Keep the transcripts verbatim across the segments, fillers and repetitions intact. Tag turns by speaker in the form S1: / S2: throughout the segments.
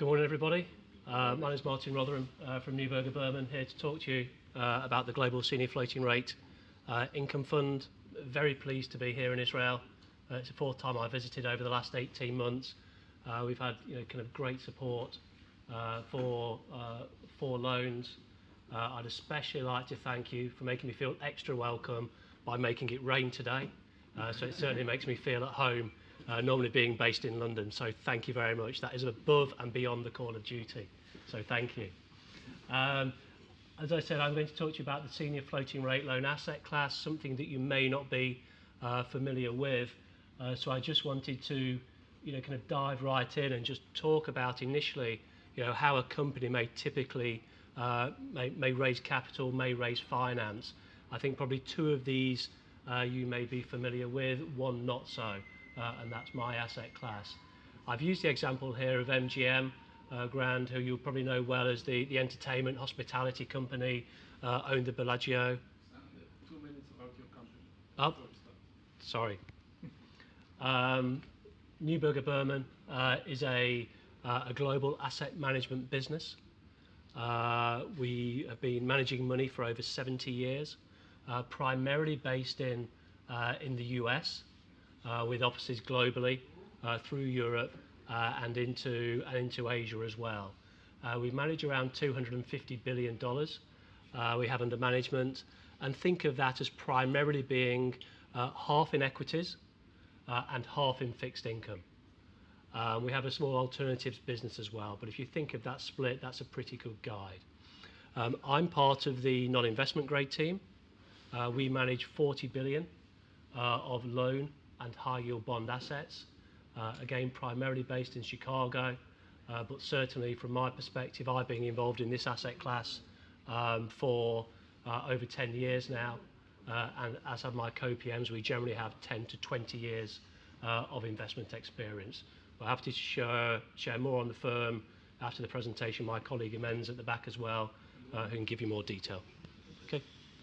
S1: Good morning, everybody. Uh, my name is Martin Rotherham uh, from Neuberger Berman, here to talk to you uh, about the Global Senior Floating Rate uh, Income Fund. Very pleased to be here in Israel. Uh, it's the fourth time I visited over the last eighteen months. Uh, we've had you know, kind of great support uh, for, uh, for loans. Uh, I'd especially like to thank you for making me feel extra welcome by making it rain today. Uh, so it certainly makes me feel at home, uh, normally being based in London. So thank you very much. That is above and beyond the call of duty. So thank you. Um, as I said, I'm going to talk to you about the senior floating rate loan asset class, something that you may not be uh, familiar with. Uh, so I just wanted to, you know, kind of dive right in and just talk about initially, you know, how a company may typically uh, may, may raise capital, may raise finance. I think probably two of these uh, you may be familiar with, one not so, uh, and that's my asset class. I've used the example here of M G M uh, Grand, who you'll probably know well as the, the entertainment hospitality company, uh, owned the Bellagio.
S2: And two minutes about your company.
S1: Oh, sorry. um, Neuberger Berman uh, is a, uh, a global asset management business. Uh, we have been managing money for over seventy years. Uh, primarily based in uh, in the U S, uh, with offices globally uh, through Europe uh, and into and into Asia as well. Uh, we manage around two hundred fifty billion dollars. Uh, we have under management, and think of that as primarily being uh, half in equities uh, and half in fixed income. Um, we have a small alternatives business as well, but if you think of that split, that's a pretty good guide. Um, I'm part of the non-investment grade team. Uh, we manage forty billion dollars uh, of loan and high yield bond assets, uh, again primarily based in Chicago, uh, but certainly from my perspective, I've been involved in this asset class um, for uh, over ten years now, uh, and as have my co-P Ms, we generally have ten to twenty years uh, of investment experience. We're happy to share, share more on the firm after the presentation. My colleague Imen's at the back as well, uh, who can give you more detail. Okay.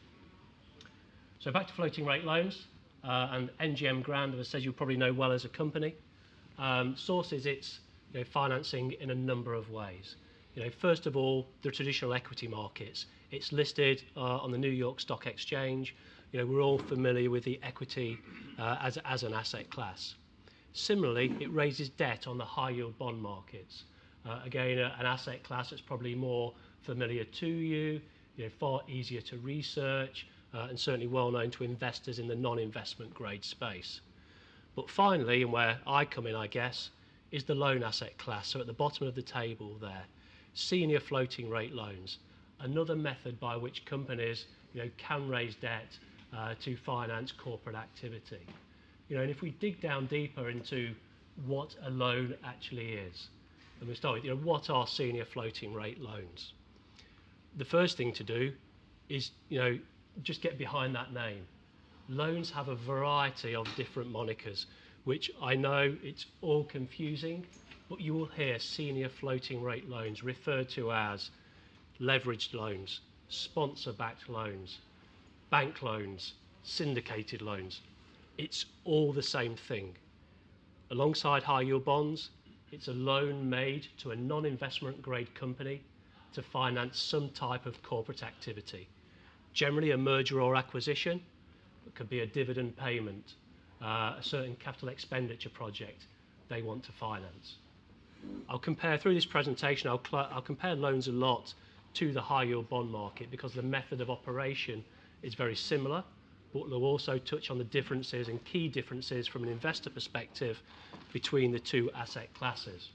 S1: So back to floating rate loans, uh, and M G M Grand, as I said, you probably know well as a company, um, sources its you know, financing in a number of ways. You know, first of all, the traditional equity markets. It's listed uh, on the New York Stock Exchange. You know, we're all familiar with the equity uh, as, as an asset class. Similarly, it raises debt on the high yield bond markets. Uh, again, a, an asset class that's probably more familiar to you, you know, far easier to research, Uh, and certainly well known to investors in the non-investment grade space. But finally, and where I come in, I guess, is the loan asset class. So at the bottom of the table there, senior floating rate loans, another method by which companies you know, can raise debt uh, to finance corporate activity. You know, and if we dig down deeper into what a loan actually is, and we start with, you know, what are senior floating rate loans? The first thing to do is, you know, just get behind that name. Loans have a variety of different monikers, which I know it's all confusing, but you will hear senior floating rate loans referred to as leveraged loans, sponsor-backed loans, bank loans, syndicated loans. It's all the same thing. Alongside high yield bonds, it's a loan made to a non-investment grade company to finance some type of corporate activity. Generally a merger or acquisition, it could be a dividend payment, uh, a certain capital expenditure project they want to finance. I'll compare, through this presentation, I'll, I'll compare loans a lot to the high yield bond market because the method of operation is very similar, but we'll also touch on the differences and key differences from an investor perspective between the two asset classes.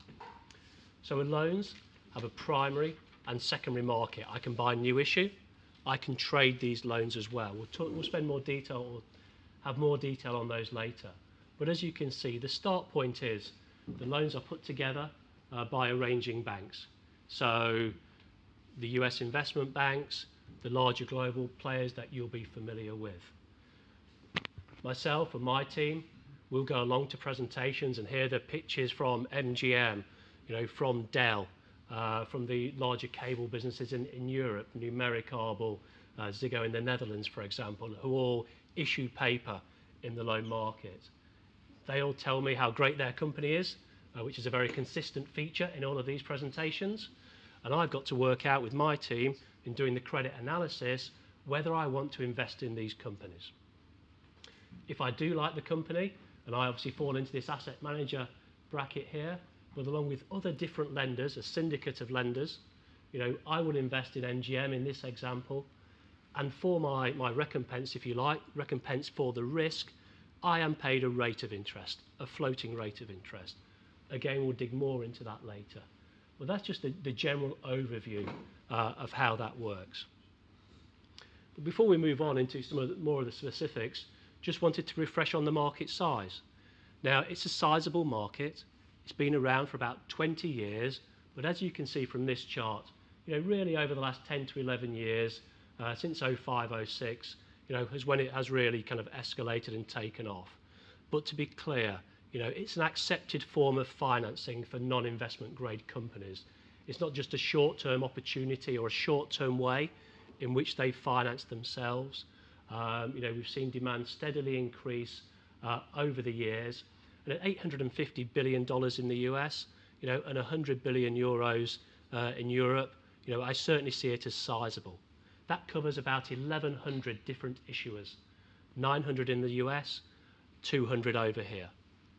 S1: So with loans, have a primary and secondary market. I can buy new issue, I can trade these loans as well. We'll, talk, we'll spend more detail, or have more detail on those later. But as you can see, the start point is the loans are put together uh, by arranging banks. So the U S investment banks, the larger global players that you'll be familiar with. Myself and my team will go along to presentations and hear the pitches from M G M, you know, from Dell, Uh, from the larger cable businesses in, in Europe, Numericable, uh, Ziggo in the Netherlands, for example, who all issue paper in the loan market. They all tell me how great their company is, uh, which is a very consistent feature in all of these presentations. And I've got to work out with my team in doing the credit analysis whether I want to invest in these companies. If I do like the company, and I obviously fall into this asset manager bracket here, but along with other different lenders, a syndicate of lenders, you know, I will invest in M G M in this example, and for my, my recompense, if you like, recompense for the risk, I am paid a rate of interest, a floating rate of interest. Again, we'll dig more into that later. Well, that's just the, the general overview uh, of how that works. But before we move on into some of the, more of the specifics, just wanted to refresh on the market size. Now, it's a sizable market. It's been around for about twenty years, but as you can see from this chart, you know, really over the last ten to eleven years, uh, since oh five, oh six, you know, is when it has really kind of escalated and taken off. But to be clear, you know, it's an accepted form of financing for non-investment grade companies. It's not just a short-term opportunity or a short-term way in which they finance themselves. Um, you know, we've seen demand steadily increase uh, over the years, and at eight hundred fifty billion dollars in the U S, you know, and one hundred billion euros uh, in Europe, you know, I certainly see it as sizable. That covers about eleven hundred different issuers, nine hundred in the U S, two hundred over here.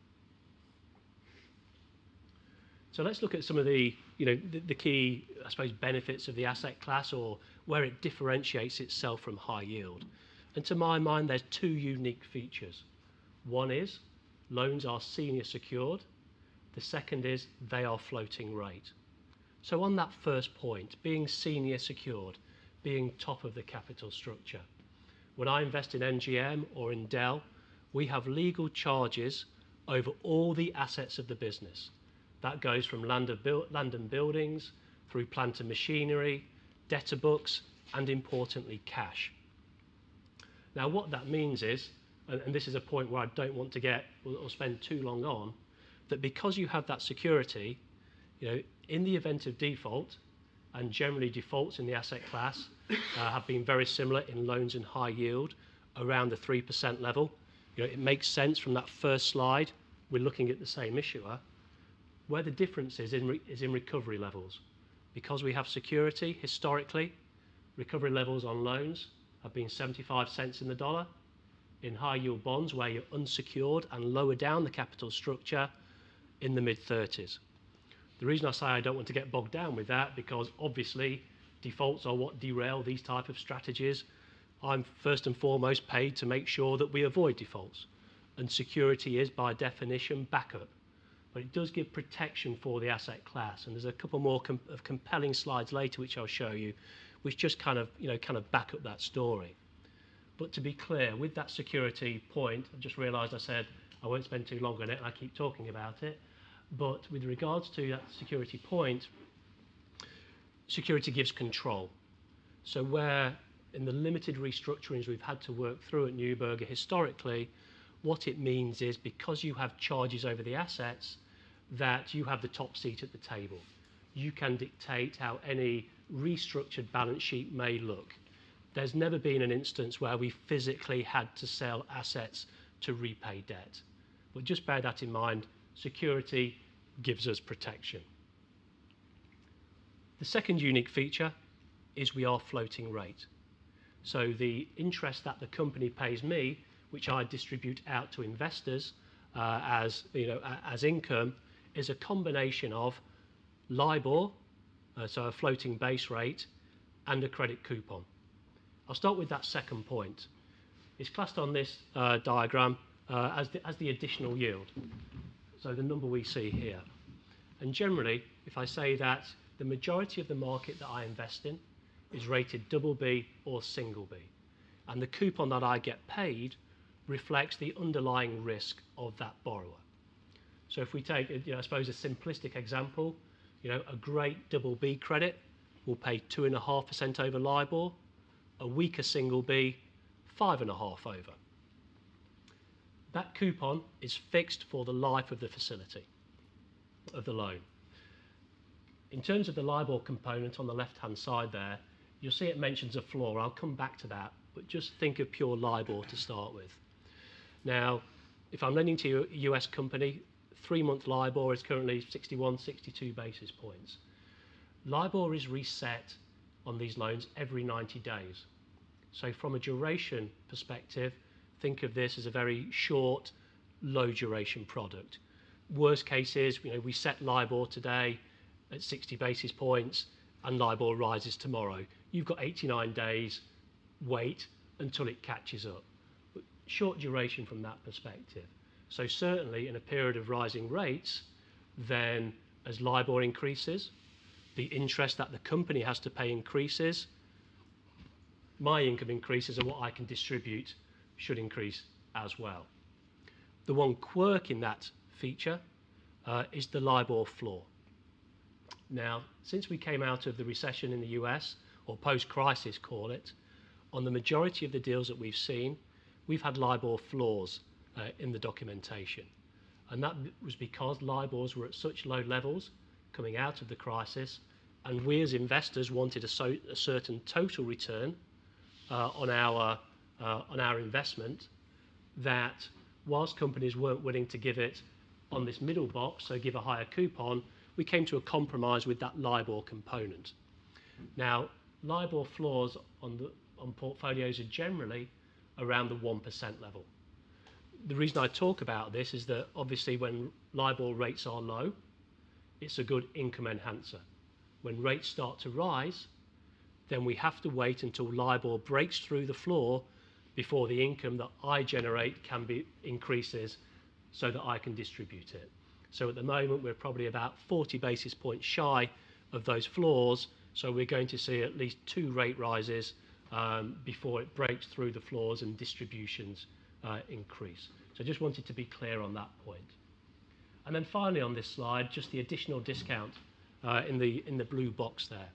S1: So let's look at some of the, you know, the, the key, I suppose, benefits of the asset class, or where it differentiates itself from high yield. And to my mind, there's two unique features. One is loans are senior secured. The second is they are floating rate. So on that first point, being senior secured, being top of the capital structure. When I invest in M G M or in Dell, we have legal charges over all the assets of the business. That goes from land, of build, land and buildings, through plant and machinery, debtor books, and importantly, cash. Now, what that means is, and, and this is a point where I don't want to get or, or spend too long on, that because you have that security, you know, in the event of default, and generally defaults in the asset class uh, have been very similar in loans and high yield, around the three percent level. You know, it makes sense from that first slide, we're looking at the same issuer. Where the difference is in, re is in recovery levels. Because we have security, historically, recovery levels on loans have been seventy-five cents in the dollar. In high yield bonds, where you're unsecured and lower down the capital structure, in the mid thirties. The reason I say I don't want to get bogged down with that, because obviously defaults are what derail these type of strategies. I'm first and foremost paid to make sure that we avoid defaults, and security is by definition backup. But it does give protection for the asset class, and there's a couple more com of compelling slides later which I'll show you, which just kind of, you know, kind of back up that story. But to be clear, with that security point, I just realised I said I won't spend too long on it, and I keep talking about it. But with regards to that security point, security gives control. So where in the limited restructurings we've had to work through at Neuberger historically, what it means is because you have charges over the assets, that you have the top seat at the table. You can dictate how any restructured balance sheet may look. There's never been an instance where we physically had to sell assets to repay debt. But just bear that in mind, security gives us protection. The second unique feature is we are floating rate. So the interest that the company pays me, which I distribute out to investors uh, as, you know, as income, is a combination of LIBOR, uh, so a floating base rate, and a credit coupon. I'll start with that second point. It's classed on this uh, diagram uh, as, the, as the additional yield, so the number we see here. And generally, if I say that the majority of the market that I invest in is rated double B or single B, and the coupon that I get paid reflects the underlying risk of that borrower. So if we take, you know, I suppose a simplistic example, you know, a great double B credit will pay two and a half percent over LIBOR, a weaker single B, five and a half over. That coupon is fixed for the life of the facility, of the loan. In terms of the LIBOR component on the left-hand side there, you'll see it mentions a floor. I'll come back to that, but just think of pure LIBOR to start with. Now, if I'm lending to a U S company, three-month LIBOR is currently sixty-one, sixty-two basis points. LIBOR is reset on these loans every ninety days. So from a duration perspective, think of this as a very short, low duration product. Worst case is, you know, we set LIBOR today at sixty basis points and LIBOR rises tomorrow. You've got eighty-nine days, wait until it catches up. But short duration from that perspective. So certainly in a period of rising rates, then as LIBOR increases, the interest that the company has to pay increases, my income increases, and what I can distribute should increase as well. The one quirk in that feature uh, is the LIBOR floor. Now, since we came out of the recession in the U S, or post-crisis call it, on the majority of the deals that we've seen, we've had LIBOR floors uh, in the documentation. And that was because LIBORs were at such low levels coming out of the crisis, and we as investors wanted a, so, a certain total return uh, on our uh, on our investment, that whilst companies weren't willing to give it on this middle box, so give a higher coupon, we came to a compromise with that LIBOR component. Now, LIBOR floors on the on portfolios are generally around the one percent level. The reason I talk about this is that obviously when LIBOR rates are low, it's a good income enhancer. When rates start to rise, then we have to wait until LIBOR breaks through the floor before the income that I generate can be increases so that I can distribute it. So at the moment, we're probably about forty basis points shy of those floors, so we're going to see at least two rate rises um, before it breaks through the floors and distributions uh, increase. So I just wanted to be clear on that point. And then finally on this slide, just the additional discount uh, in the in the blue box there.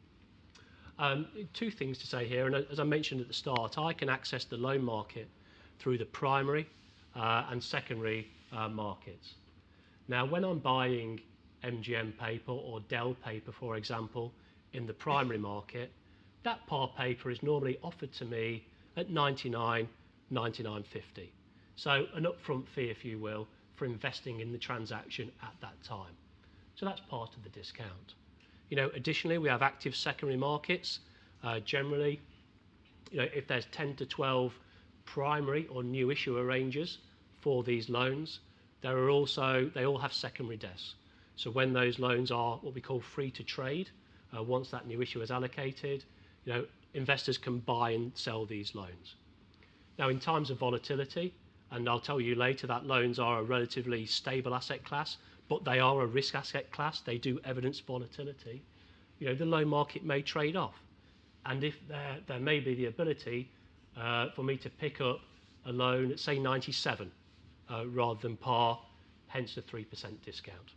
S1: Um, two things to say here, and as I mentioned at the start, I can access the loan market through the primary uh, and secondary uh, markets. Now, when I'm buying M G M paper or Dell paper, for example, in the primary market, that par paper is normally offered to me at ninety-nine, ninety-nine fifty. So an upfront fee, if you will, for investing in the transaction at that time. So that's part of the discount. You know, additionally, we have active secondary markets. Uh, generally, you know, if there's ten to twelve primary or new issue arrangers for these loans, there are also, they all have secondary desks. So when those loans are what we call free to trade, uh, once that new issue is allocated, you know, investors can buy and sell these loans. Now, in times of volatility, and I'll tell you later that loans are a relatively stable asset class, but they are a risk asset class, they do evidence volatility, you know, the loan market may trade off. And if there, there may be the ability uh, for me to pick up a loan at, say, ninety-seven uh, rather than par, hence the three percent discount.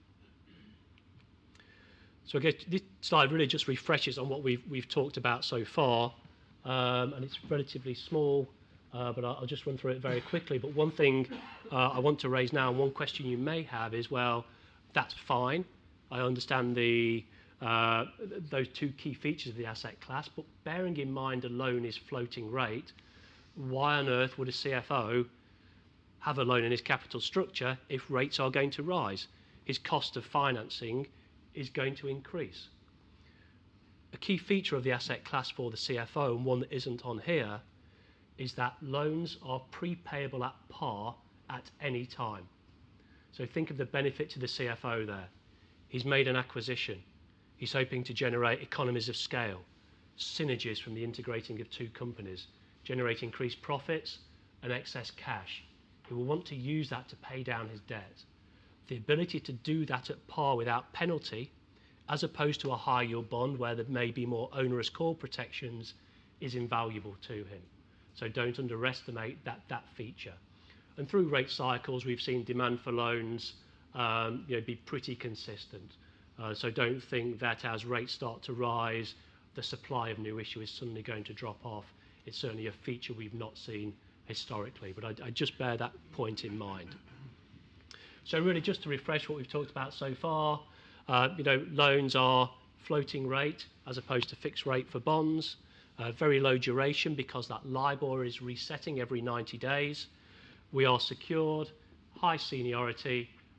S1: So again, this slide really just refreshes on what we've, we've talked about so far, um, and it's relatively small, uh, but I'll, I'll just run through it very quickly. But one thing uh, I want to raise now, and one question you may have is, well, that's fine. I understand the uh, those two key features of the asset class, but bearing in mind a loan is floating rate, why on earth would a C F O have a loan in his capital structure if rates are going to rise? His cost of financing is going to increase. A key feature of the asset class for the C F O, and one that isn't on here, is that loans are prepayable at par at any time. So think of the benefit to the C F O there. He's made an acquisition. He's hoping to generate economies of scale, synergies from the integrating of two companies, generate increased profits and excess cash. He will want to use that to pay down his debt. The ability to do that at par without penalty, as opposed to a high yield bond where there may be more onerous call protections, is invaluable to him. So don't underestimate that, that feature. And through rate cycles, we've seen demand for loans um, you know, be pretty consistent. Uh, so don't think that as rates start to rise, the supply of new issue is suddenly going to drop off. It's certainly a feature we've not seen historically, but I, I just bear that point in mind. So really just to refresh what we've talked about so far, uh, you know, loans are floating rate as opposed to fixed rate for bonds, uh, very low duration because that LIBOR is resetting every ninety days. We are secured, high seniority,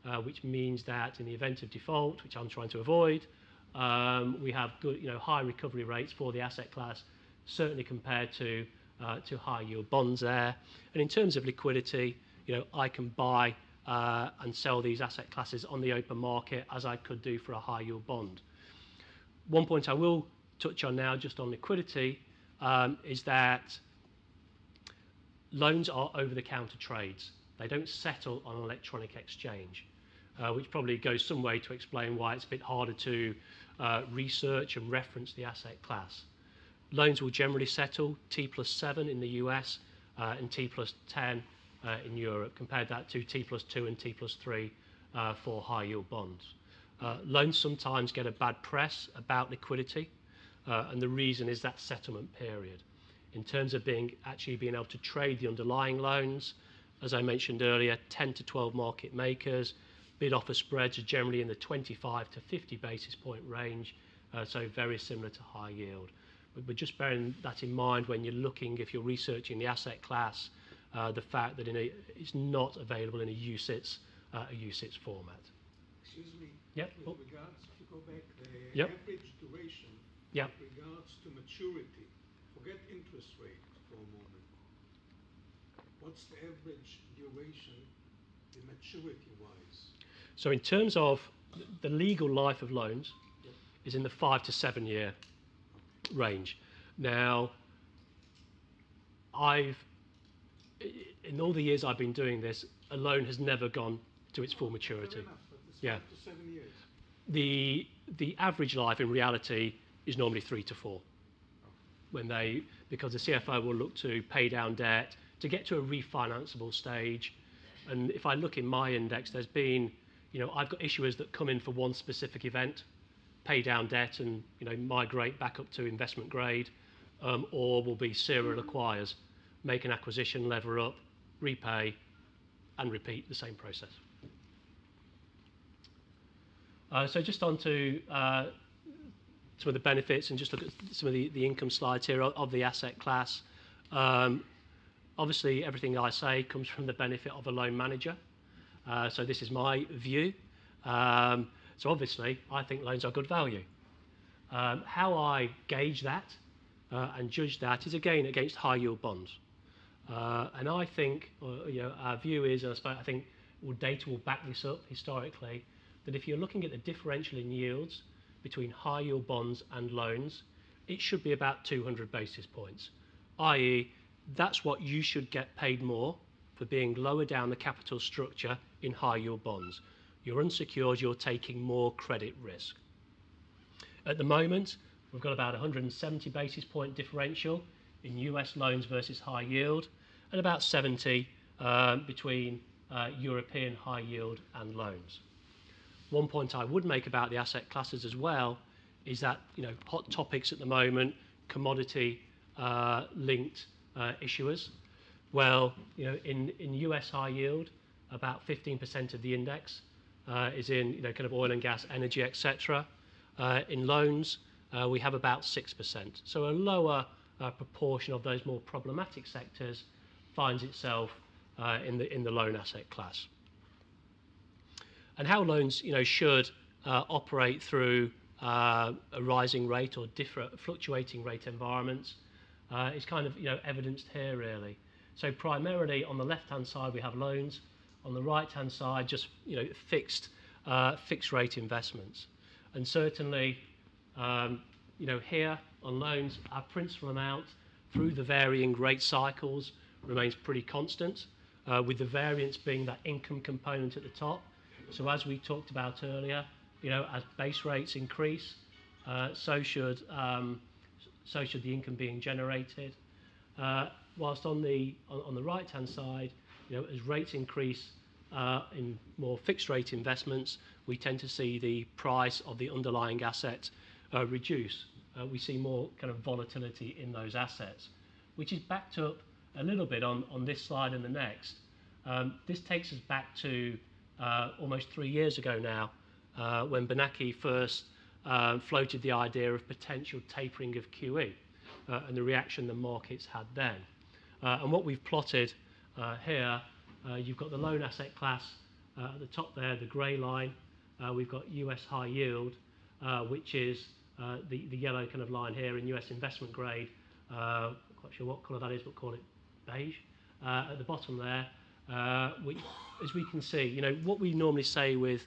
S1: uh, which means that in the event of default, which I'm trying to avoid, um, we have good, you know, high recovery rates for the asset class, certainly compared to uh, to high yield bonds there. And in terms of liquidity, you know, I can buy uh, and sell these asset classes on the open market as I could do for a high yield bond. One point I will touch on now, just on liquidity, um, is that loans are over-the-counter trades. They don't settle on an electronic exchange, uh, which probably goes some way to explain why it's a bit harder to uh, research and reference the asset class. Loans will generally settle T plus seven in the U S uh, and T plus ten uh, in Europe. Compared that to T plus two and T plus three uh, for high yield bonds. Uh, loans sometimes get a bad press about liquidity, uh, and the reason is that settlement period. In terms of being actually being able to trade the underlying loans, as I mentioned earlier, ten to twelve market makers, bid offer spreads are generally in the twenty-five to fifty basis point range, uh, so very similar to high yield. But, but just bearing that in mind when you're looking, if you're researching the asset class, uh, the fact that in a, it's not available in a U C I T S, uh, a U C I T S format.
S3: Excuse me.
S1: Yep.
S3: With regards, if you go back, the
S1: Yep.
S3: average duration
S1: Yep.
S3: with regards to maturity, forget interest rate for a moment. What's the average duration, the maturity-wise?
S1: So in terms of the legal life of loans,
S3: Yep.
S1: is in the five to seven year range. Now, I've, in all the years I've been doing this, a loan has never gone to its full maturity.
S3: Fair enough, but it's
S1: Yeah.
S3: five to seven years.
S1: The, the average life in reality is normally three to four. When they, because the C F O will look to pay down debt, to get to a refinanceable stage. And if I look in my index, there's been, you know, I've got issuers that come in for one specific event, pay down debt and, you know, migrate back up to investment grade, um, or will be serial acquires, make an acquisition, lever up, repay, and repeat the same process. Uh, so just on to uh, some of the benefits and just look at some of the, the income slides here of, of the asset class. Um, obviously, everything I say comes from the benefit of a loan manager. Uh, so this is my view. Um, so obviously, I think loans are good value. Um, how I gauge that uh, and judge that is again against high yield bonds. Uh, and I think, or, you know, our view is, and I suppose I think well, data will back this up historically, that if you're looking at the differential in yields between high yield bonds and loans, it should be about two hundred basis points, that is, that's what you should get paid more for being lower down the capital structure in high yield bonds. You're unsecured, you're taking more credit risk. At the moment, we've got about one hundred seventy basis point differential in U S loans versus high yield, and about seventy uh, between uh, European high yield and loans. One point I would make about the asset classes as well is that, you know, hot topics at the moment, commodity uh, linked uh, issuers. Well, you know, in, in U S high yield, about fifteen percent of the index uh, is in, you know, kind of oil and gas, energy, et cetera. Uh, in loans, uh, we have about six percent. So a lower uh, proportion of those more problematic sectors finds itself uh, in the in the loan asset class. And how loans, you know, should uh, operate through uh, a rising rate or different fluctuating rate environments uh, is kind of, you know, evidenced here really. So primarily on the left-hand side we have loans, on the right-hand side just, you know, fixed uh, fixed rate investments. And certainly, um, you know, here on loans, our principal amount through the varying rate cycles remains pretty constant, uh, with the variance being that income component at the top. So as we talked about earlier, you know, as base rates increase, uh, so should um, so should the income being generated. Uh, whilst on the on, on the right-hand side, you know, as rates increase uh, in more fixed rate investments, we tend to see the price of the underlying asset uh, reduce. Uh, we see more kind of volatility in those assets, which is backed up a little bit on on this slide and the next. Um, this takes us back to Uh, almost three years ago now, uh, when Bernanke first uh, floated the idea of potential tapering of Q E uh, and the reaction the markets had then. Uh, and what we've plotted uh, here, uh, you've got the loan asset class Uh, at the top there, the grey line, uh, we've got U S high yield, uh, which is uh, the, the yellow kind of line here in U S investment grade. Uh, not quite sure what colour that is, but call it beige. Uh, at the bottom there, uh, we, as we can see, you know, what we normally say with,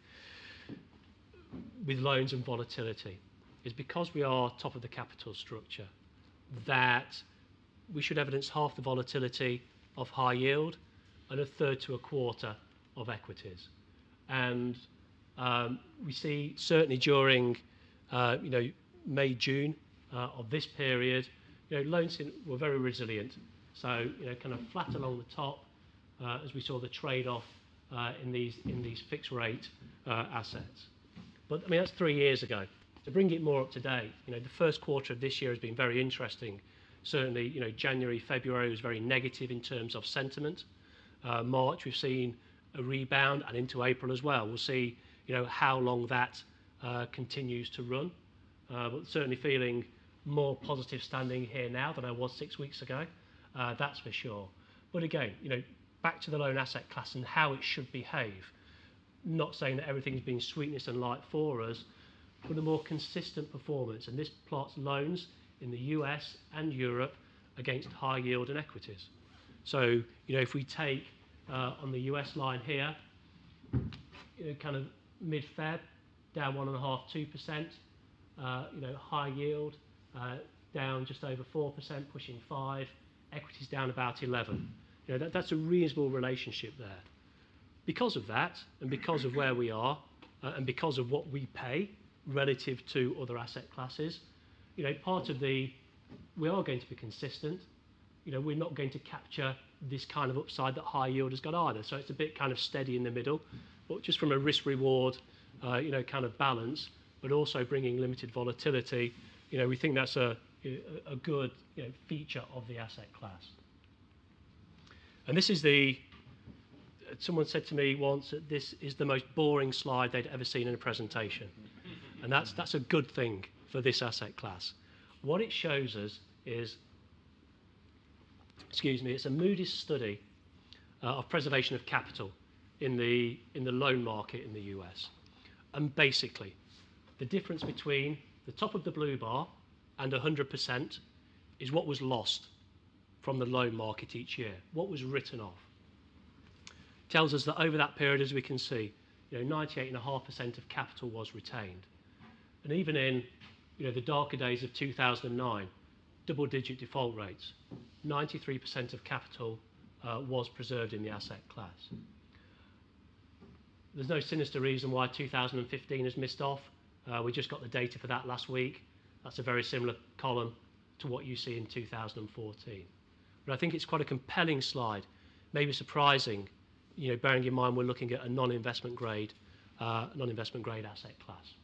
S1: with loans and volatility is because we are top of the capital structure, that we should evidence half the volatility of high yield and a third to a quarter of equities. And um, we see certainly during uh, you know, May, June uh, of this period, you know, loans in, were very resilient. So, you know, kind of flat along the top uh, as we saw the trade-off uh, in these in these fixed rate uh, assets. But I mean, that's three years ago. To bring it more up to date, you know, the first quarter of this year has been very interesting. Certainly, you know, January, February was very negative in terms of sentiment. Uh, March, we've seen a rebound, and into April as well. We'll see, you know, how long that uh, continues to run. Uh, but certainly feeling more positive standing here now than I was six weeks ago. Uh, that's for sure. But again, you know, back to the loan asset class and how it should behave. Not saying that everything's been sweetness and light for us, but a more consistent performance. And this plots loans in the U S and Europe against high yield and equities. So, you know, if we take uh, on the U S line here, you know, kind of mid-Feb, down one and a half, two percent. Uh, you know, high yield uh, down just over four percent, pushing five. Equities down about eleven. You know, that, that's a reasonable relationship there. Because of that, and because of where we are, uh, and because of what we pay relative to other asset classes, you know, part of the, we are going to be consistent. You know, we're not going to capture this kind of upside that high yield has got either. So it's a bit kind of steady in the middle, but just from a risk reward, uh, you know, kind of balance, but also bringing limited volatility, you know, we think that's a, a good, you know, feature of the asset class. And this is the, someone said to me once that this is the most boring slide they'd ever seen in a presentation. And that's, that's a good thing for this asset class. What it shows us is, excuse me, it's a Moody's study uh, of preservation of capital in the, in the loan market in the U S. And basically, the difference between the top of the blue bar and one hundred percent is what was lost from the loan market each year, what was written off. Tells us that over that period, as we can see, you know, ninety-eight point five percent of capital was retained. And even in, you know, the darker days of two thousand nine, double-digit default rates, ninety-three percent of capital uh, was preserved in the asset class. There's no sinister reason why two thousand fifteen has missed off. Uh, we just got the data for that last week. That's a very similar column to what you see in two thousand fourteen. But I think it's quite a compelling slide, maybe surprising, you know, bearing in mind we're looking at a non-investment grade, uh, non-investment grade asset class.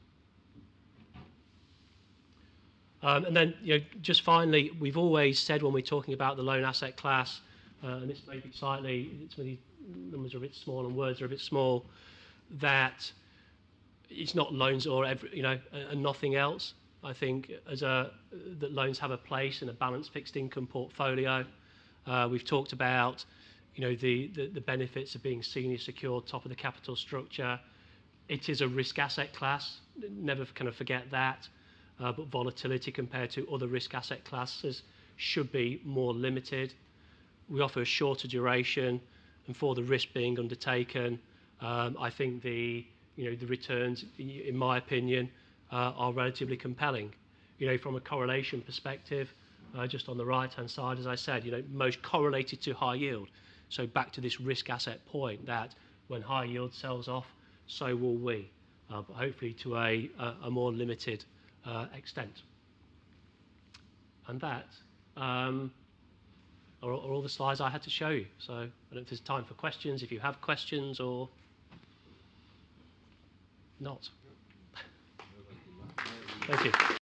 S1: Um, and then, you know, just finally, we've always said when we're talking about the loan asset class, uh, and this may be slightly, some of these numbers are a bit small and words are a bit small, that it's not loans or every, you know, and nothing else. I think as a, that loans have a place in a balanced fixed income portfolio. Uh, we've talked about, you know, the, the, the benefits of being senior secured, top of the capital structure. It is a risk asset class, never kind of forget that. Uh, but volatility compared to other risk asset classes should be more limited. We offer a shorter duration, and for the risk being undertaken, um, I think the, you know, the returns, in my opinion, uh, are relatively compelling. You know, from a correlation perspective, uh, just on the right-hand side, as I said, you know, most correlated to high yield. So back to this risk asset point that when high yield sells off, so will we, uh, but hopefully to a, a, a more limited uh, extent. And that um, are, are all the slides I had to show you. So I don't know if there's time for questions, if you have questions or not. Thank you.